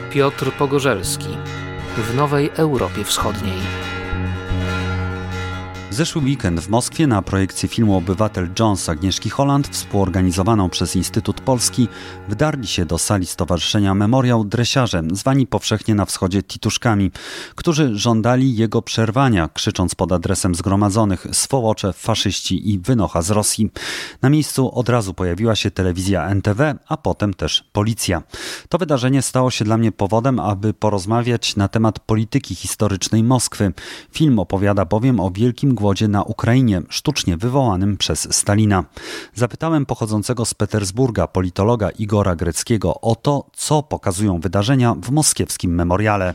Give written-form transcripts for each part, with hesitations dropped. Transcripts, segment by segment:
Piotr Pogorzelski w Nowej Europie Wschodniej. Zeszły weekend w Moskwie na projekcję filmu Obywatel Jones Agnieszki Holland, współorganizowaną przez Instytut Polski, wdarli się do sali Stowarzyszenia Memoriał dresiarze, zwani powszechnie na wschodzie tituszkami, którzy żądali jego przerwania, krzycząc pod adresem zgromadzonych: swołocze, faszyści i wynocha z Rosji. Na miejscu od razu pojawiła się telewizja NTV, a potem też policja. To wydarzenie stało się dla mnie powodem, aby porozmawiać na temat polityki historycznej Moskwy. Film opowiada bowiem o wielkim głodzie na Ukrainie, sztucznie wywołanym przez Stalina. Zapytałem pochodzącego z Petersburga politologa Igora Greckiego o to, co pokazują wydarzenia w moskiewskim memoriale.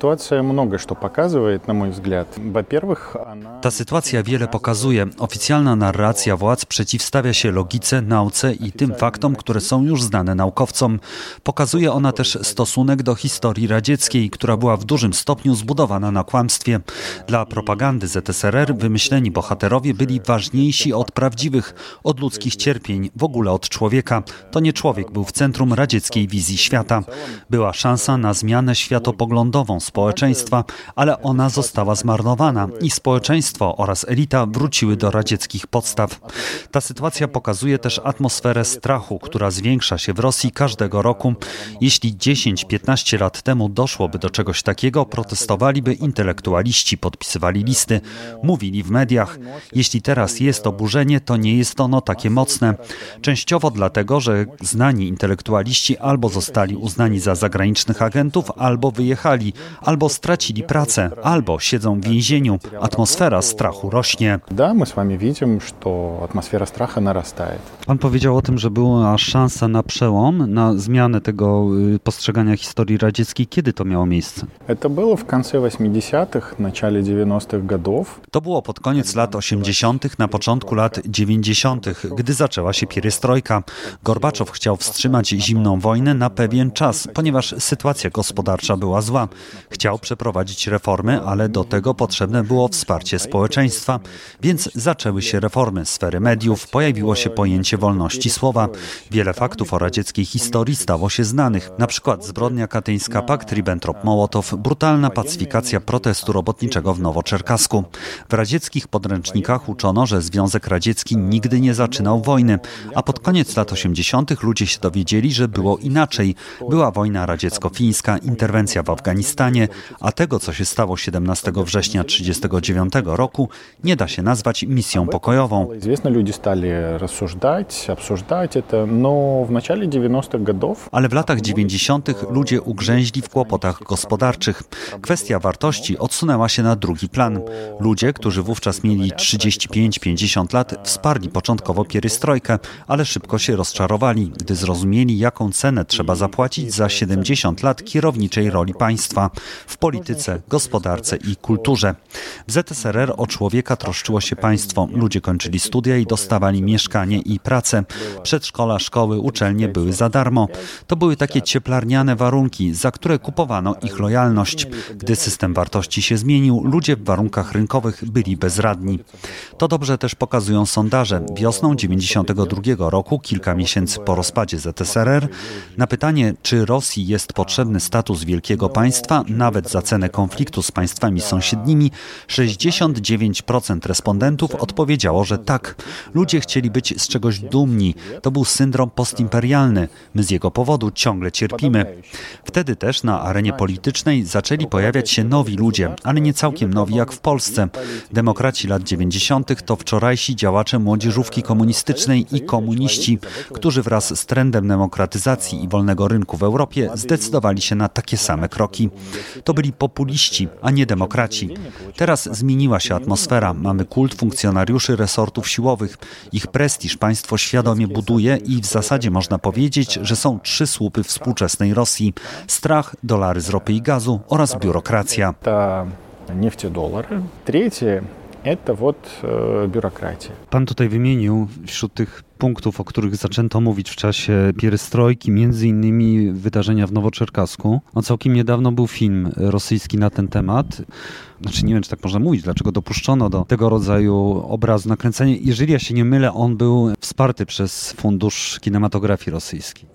Ta sytuacja wiele pokazuje. Oficjalna narracja władz przeciwstawia się logice, nauce i tym faktom, które są już znane naukowcom. Pokazuje ona też stosunek do historii radzieckiej, która była w dużym stopniu zbudowana na kłamstwie. Dla propagandy ZSRR wymyśleni bohaterowie byli ważniejsi od prawdziwych, od ludzkich cierpień, w ogóle od człowieka. To nie człowiek był w centrum radzieckiej wizji świata. Była szansa na zmianę światopoglądową społeczeństwa, ale ona została zmarnowana i społeczeństwo oraz elita wróciły do radzieckich podstaw. Ta sytuacja pokazuje też atmosferę strachu, która zwiększa się w Rosji każdego roku. Jeśli 10-15 lat temu doszłoby do czegoś takiego, protestowaliby intelektualiści, podpisywali listy, mówili w mediach. Jeśli teraz jest oburzenie, to nie jest ono takie mocne. Częściowo dlatego, że znani intelektualiści albo zostali uznani za zagranicznych agentów, albo wyjechali, albo stracili pracę, albo siedzą w więzieniu. Atmosfera strachu rośnie. Да, мы с вами видим, что атмосфера страха нарастает. Pan powiedział o tym, że była szansa na przełom, na zmianę tego postrzegania historii radzieckiej. Kiedy to miało miejsce? Это было в конце 80-х, начале 90-х годов. To było pod koniec lat 80., na początku lat 90., gdy zaczęła się pierestrojka. Gorbaczow chciał wstrzymać zimną wojnę na pewien czas, ponieważ sytuacja gospodarcza była zła. Chciał przeprowadzić reformy, ale do tego potrzebne było wsparcie społeczeństwa, więc zaczęły się reformy sfery mediów, pojawiło się pojęcie wolności słowa. Wiele faktów o radzieckiej historii stało się znanych, na przykład zbrodnia katyńska, pakt Ribbentrop-Mołotow, brutalna pacyfikacja protestu robotniczego w Nowoczerkasku. W radzieckich podręcznikach uczono, że Związek Radziecki nigdy nie zaczynał wojny, a pod koniec lat 80. ludzie się dowiedzieli, że było inaczej. Była wojna radziecko-fińska, interwencja w Afganistanie, a tego, co się stało 17 września 1939 roku, nie da się nazwać misją pokojową. Ale w latach 90. ludzie ugrzęźli w kłopotach gospodarczych. Kwestia wartości odsunęła się na drugi plan. Ludzie, którzy wówczas mieli 35-50 lat, wsparli początkowo pierestrojkę, ale szybko się rozczarowali, gdy zrozumieli, jaką cenę trzeba zapłacić za 70 lat kierowniczej roli państwa w polityce, gospodarce i kulturze. W ZSRR o człowieka troszczyło się państwo. Ludzie kończyli studia i dostawali mieszkanie i pracę. Przedszkola, szkoły, uczelnie były za darmo. To były takie cieplarniane warunki, za które kupowano ich lojalność. Gdy system wartości się zmienił, ludzie w warunkach rynkowych byli bezradni. To dobrze też pokazują sondaże. Wiosną 1992 roku, kilka miesięcy po rozpadzie ZSRR, na pytanie, czy Rosji jest potrzebny status wielkiego państwa, nawet za cenę konfliktu z państwami sąsiednimi, 69% respondentów odpowiedziało, że tak. Ludzie chcieli być z czegoś dumni. To był syndrom postimperialny. My z jego powodu ciągle cierpimy. Wtedy też na arenie politycznej zaczęli pojawiać się nowi ludzie, ale nie całkiem nowi jak w Polsce. Demokraci lat 90. to wczorajsi działacze młodzieżówki komunistycznej i komuniści, którzy wraz z trendem demokratyzacji i wolnego rynku w Europie zdecydowali się na takie same kroki. To byli populiści, a nie demokraci. Teraz zmieniła się atmosfera. Mamy kult funkcjonariuszy resortów siłowych. Ich prestiż państwo świadomie buduje i w zasadzie można powiedzieć, że są 3 słupy współczesnej Rosji: strach, dolary z ropy i gazu oraz biurokracja. Trzecie, to biurokracja. Pan tutaj wymienił wśród tych punktów, o których zaczęto mówić w czasie pierestrojki, między innymi wydarzenia w Nowoczerkasku. Całkiem niedawno był film rosyjski na ten temat. Nie wiem, czy tak można mówić, dlaczego dopuszczono do tego rodzaju obrazu nakręcenia. Jeżeli ja się nie mylę, on był wsparty przez Fundusz Kinematografii Rosyjskiej.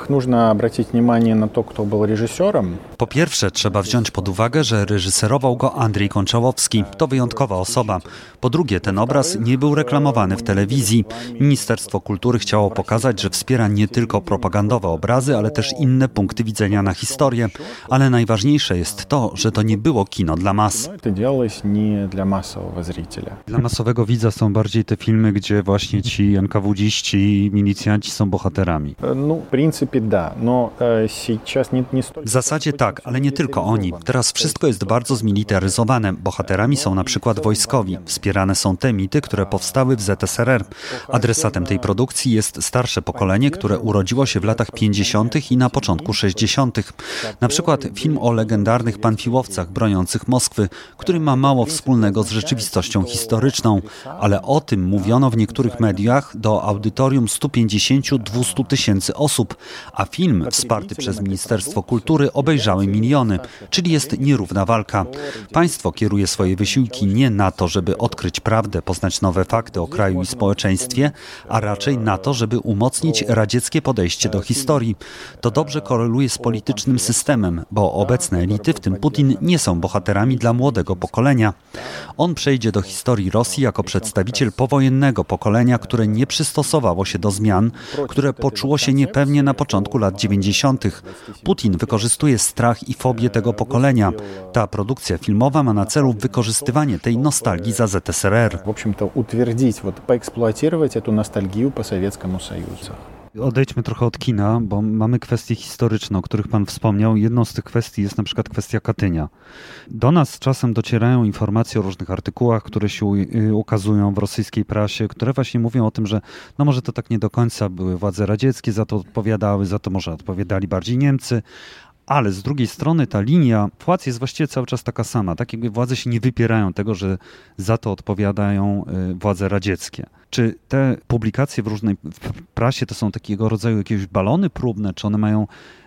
Po pierwsze, trzeba wziąć pod uwagę, że reżyserował go Andrzej Konczałowski. To wyjątkowa osoba. Po drugie, ten obraz nie był reklamowany w telewizji. Ministerstwo Kultury chciało pokazać, że wspiera nie tylko propagandowe obrazy, ale też inne punkty widzenia na historię. Ale najważniejsze jest to, że to nie było kino dla mas. Dla masowego widza są bardziej te filmy, gdzie właśnie ci NKWD-ści i milicjanci są bohaterami. W zasadzie tak, ale nie tylko oni. Teraz wszystko jest bardzo zmilitaryzowane. Bohaterami są na przykład wojskowi. Wspierane są te mity, które powstały w ZSRR. Adresatem tej produkcji jest starsze pokolenie, które urodziło się w latach 50. i na początku 60. Na przykład film o legendarnych panfiłowcach broniących Moskwy, który ma mało wspólnego z rzeczywistością historyczną, ale o tym mówiono w niektórych mediach do audytorium 150-200 tysięcy osób, a film wsparty przez Ministerstwo Kultury obejrzały miliony, czyli jest nierówna walka. Państwo kieruje swoje wysiłki nie na to, żeby odkryć prawdę, poznać nowe fakty o kraju i społeczeństwie, a raczej na to, żeby umocnić radzieckie podejście do historii. To dobrze koreluje z politycznym systemem, bo obecne elity, w tym Putin, nie są bohaterami dla młodego pokolenia. On przejdzie do historii Rosji jako przedstawiciel powojennego pokolenia, które nie przystosowało się do zmian, które poczuło się niepewnie na początku lat 90. Putin wykorzystuje strach i fobię tego pokolenia. Ta produkcja filmowa ma na celu wykorzystywanie tej nostalgii za ZSRR. W общем-то, утвердить, поэксплуатировать эту ностальгию по Советскому Союзу. Odejdźmy trochę od kina, bo mamy kwestie historyczne, o których Pan wspomniał. Jedną z tych kwestii jest na przykład kwestia Katynia. Do nas czasem docierają informacje o różnych artykułach, które się ukazują w rosyjskiej prasie, które właśnie mówią o tym, że może to tak nie do końca były władze radzieckie, za to odpowiadały, za to może odpowiadali bardziej Niemcy. Ale z drugiej strony ta linia władz jest właściwie cały czas taka sama. Tak jakby władze się nie wypierają tego, że za to odpowiadają władze radzieckie. Czy te publikacje w prasie to są takiego rodzaju jakieś balony próbne, czy one mają...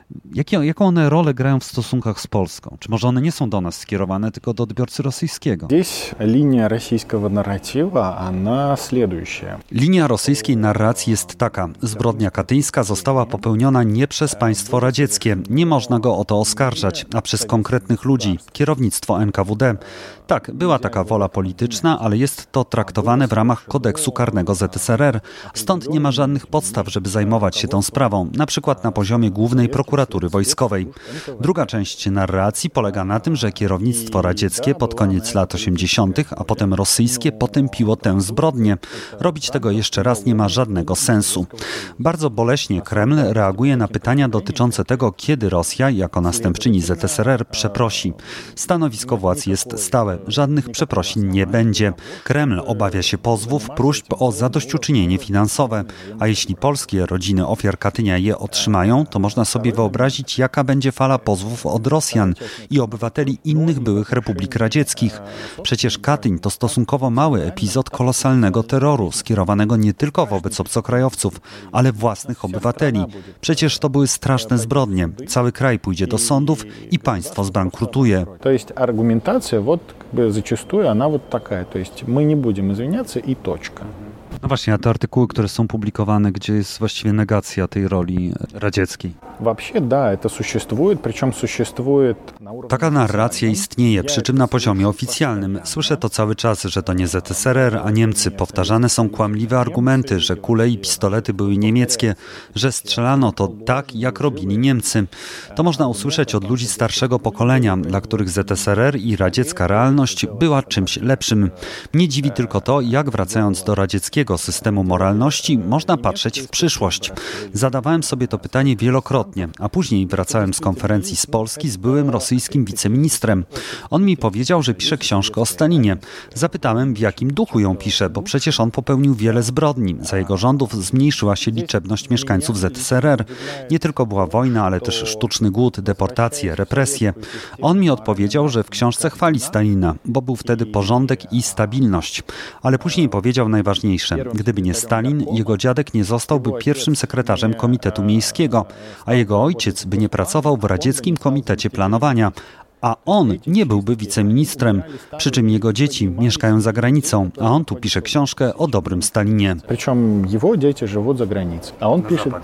Jaką one rolę grają w stosunkach z Polską? Czy może one nie są do nas skierowane, tylko do odbiorcy rosyjskiego? Linia rosyjskiego narratywa, ona следующая. Linia rosyjskiej narracji jest taka. Zbrodnia katyńska została popełniona nie przez państwo radzieckie. Nie można go o to oskarżać, a przez konkretnych ludzi, kierownictwo NKWD. Tak, była taka wola polityczna, ale jest to traktowane w ramach kodeksu karnego ZSRR. Stąd nie ma żadnych podstaw, żeby zajmować się tą sprawą, na przykład na poziomie Głównej Prokuratury Wojskowej. Druga część narracji polega na tym, że kierownictwo radzieckie pod koniec lat 80., a potem rosyjskie potępiło tę zbrodnię. Robić tego jeszcze raz nie ma żadnego sensu. Bardzo boleśnie Kreml reaguje na pytania dotyczące tego, kiedy Rosja, jako następczyni ZSRR, przeprosi. Stanowisko władz jest stałe. Żadnych przeprosin nie będzie. Kreml obawia się pozwów, próśb o zadośćuczynienie finansowe. A jeśli polskie rodziny ofiar Katynia je otrzymają, to można sobie wyobrazić, jaka będzie fala pozwów od Rosjan i obywateli innych byłych republik radzieckich. Przecież Katyń to stosunkowo mały epizod kolosalnego terroru, skierowanego nie tylko wobec obcokrajowców, ale własnych obywateli. Przecież to były straszne zbrodnie. Cały kraj pójdzie do sądów i państwo zbankrutuje. To jest argumentacja, zачастую она такая, то есть мы не будем извиняться и точка. No właśnie, a te artykuły, które są publikowane, gdzie jest właściwie negacja tej roli radzieckiej. Taka narracja istnieje, przy czym na poziomie oficjalnym. Słyszę to cały czas, że to nie ZSRR, a Niemcy. Powtarzane są kłamliwe argumenty, że kule i pistolety były niemieckie, że strzelano to tak, jak robili Niemcy. To można usłyszeć od ludzi starszego pokolenia, dla których ZSRR i radziecka realność była czymś lepszym. Mnie dziwi tylko to, jak wracając do radzieckiego systemu moralności można patrzeć w przyszłość. Zadawałem sobie to pytanie wielokrotnie. wielokrotnie, a później wracałem z konferencji z Polski z byłym rosyjskim wiceministrem. On mi powiedział, że pisze książkę o Stalinie. Zapytałem, w jakim duchu ją pisze, bo przecież on popełnił wiele zbrodni. Za jego rządów zmniejszyła się liczebność mieszkańców ZSRR. Nie tylko była wojna, ale też sztuczny głód, deportacje, represje. On mi odpowiedział, że w książce chwali Stalina, bo był wtedy porządek i stabilność. Ale później powiedział najważniejsze. Gdyby nie Stalin, jego dziadek nie zostałby pierwszym sekretarzem Komitetu Miejskiego, a jego ojciec by nie pracował w Radzieckim Komitecie Planowania, a on nie byłby wiceministrem, przy czym jego dzieci mieszkają za granicą, a on tu pisze książkę o dobrym Stalinie. Причем его дети живут за границей, a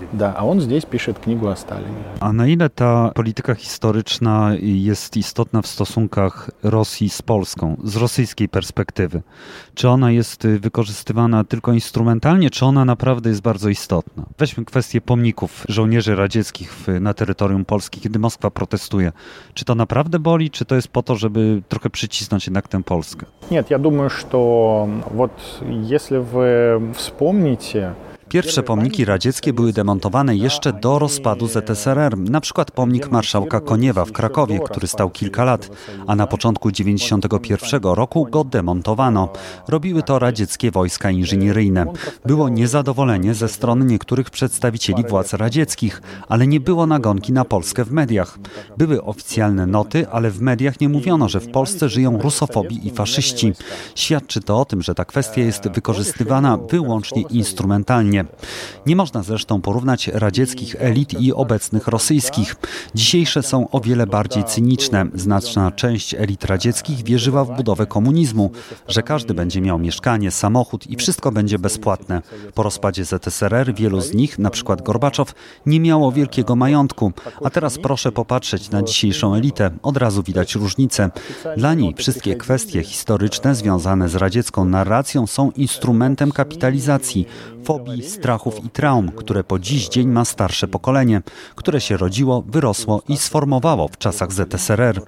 on здесь пишет книгу о Сталине. A na ile ta polityka historyczna jest istotna w stosunkach Rosji z Polską, z rosyjskiej perspektywy? Czy ona jest wykorzystywana tylko instrumentalnie, czy ona naprawdę jest bardzo istotna? Weźmy kwestię pomników żołnierzy radzieckich na terytorium Polski, kiedy Moskwa protestuje. Czy to naprawdę boli, czy to jest po to, żeby trochę przycisnąć jednak tę Polskę? Нет, я думаю, что вот если вы вспомните, Pierwsze pomniki radzieckie były demontowane jeszcze do rozpadu ZSRR, na przykład pomnik marszałka Koniewa w Krakowie, który stał kilka lat, a na początku 1991 roku go demontowano. Robiły to radzieckie wojska inżynieryjne. Było niezadowolenie ze strony niektórych przedstawicieli władz radzieckich, ale nie było nagonki na Polskę w mediach. Były oficjalne noty, ale w mediach nie mówiono, że w Polsce żyją rusofobi i faszyści. Świadczy to o tym, że ta kwestia jest wykorzystywana wyłącznie instrumentalnie. Nie można zresztą porównać radzieckich elit i obecnych rosyjskich. Dzisiejsze są o wiele bardziej cyniczne. Znaczna część elit radzieckich wierzyła w budowę komunizmu, że każdy będzie miał mieszkanie, samochód i wszystko będzie bezpłatne. Po rozpadzie ZSRR wielu z nich, na przykład Gorbaczow, nie miało wielkiego majątku. A teraz proszę popatrzeć na dzisiejszą elitę. Od razu widać różnicę. Dla niej wszystkie kwestie historyczne związane z radziecką narracją są instrumentem kapitalizacji, fobii, strachów i traum, które po dziś dzień ma starsze pokolenie, które się rodziło, wyrosło i sformowało w czasach ZSRR.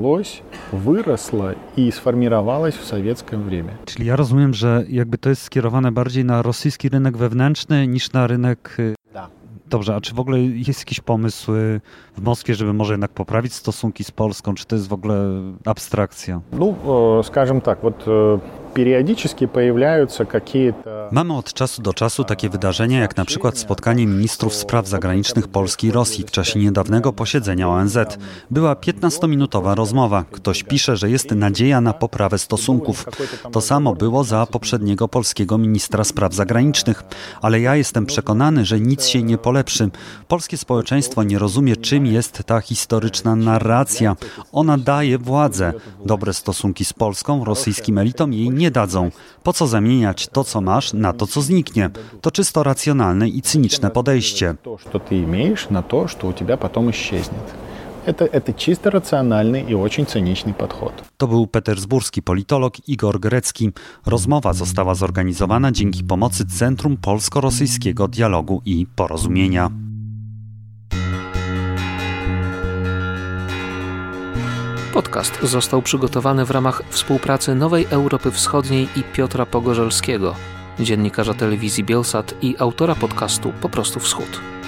Wyrosło i sformowało w sowieckim время. Czyli ja rozumiem, że jakby to jest skierowane bardziej na rosyjski rynek wewnętrzny niż na rynek... Dobrze, a czy w ogóle jest jakiś pomysł w Moskwie, żeby może jednak poprawić stosunki z Polską, czy to jest w ogóle abstrakcja? Ну, скажем так, вот периодически появляются какие-то... Mamy od czasu do czasu takie wydarzenia, jak na przykład spotkanie ministrów spraw zagranicznych Polski i Rosji w czasie niedawnego posiedzenia ONZ. Była 15-minutowa rozmowa. Ktoś pisze, że jest nadzieja na poprawę stosunków. To samo było za poprzedniego polskiego ministra spraw zagranicznych. Ale ja jestem przekonany, że nic się nie polepszy. Polskie społeczeństwo nie rozumie, czym jest ta historyczna narracja. Ona daje władzę. Dobre stosunki z Polską, rosyjskim elitom jej nie dadzą. Po co zamieniać to, co masz, na to, co zniknie? To czysto racjonalne i cyniczne podejście. To, co ty masz, na to, co u ciebie potem исчезнет. Это чисто racjonalny i очень cyniczny podchod. To był petersburski politolog Igor Grecki. Rozmowa została zorganizowana dzięki pomocy Centrum Polsko-Rosyjskiego Dialogu i Porozumienia. Podcast został przygotowany w ramach współpracy Nowej Europy Wschodniej i Piotra Pogorzelskiego, dziennikarza telewizji Bielsat i autora podcastu Po prostu Wschód.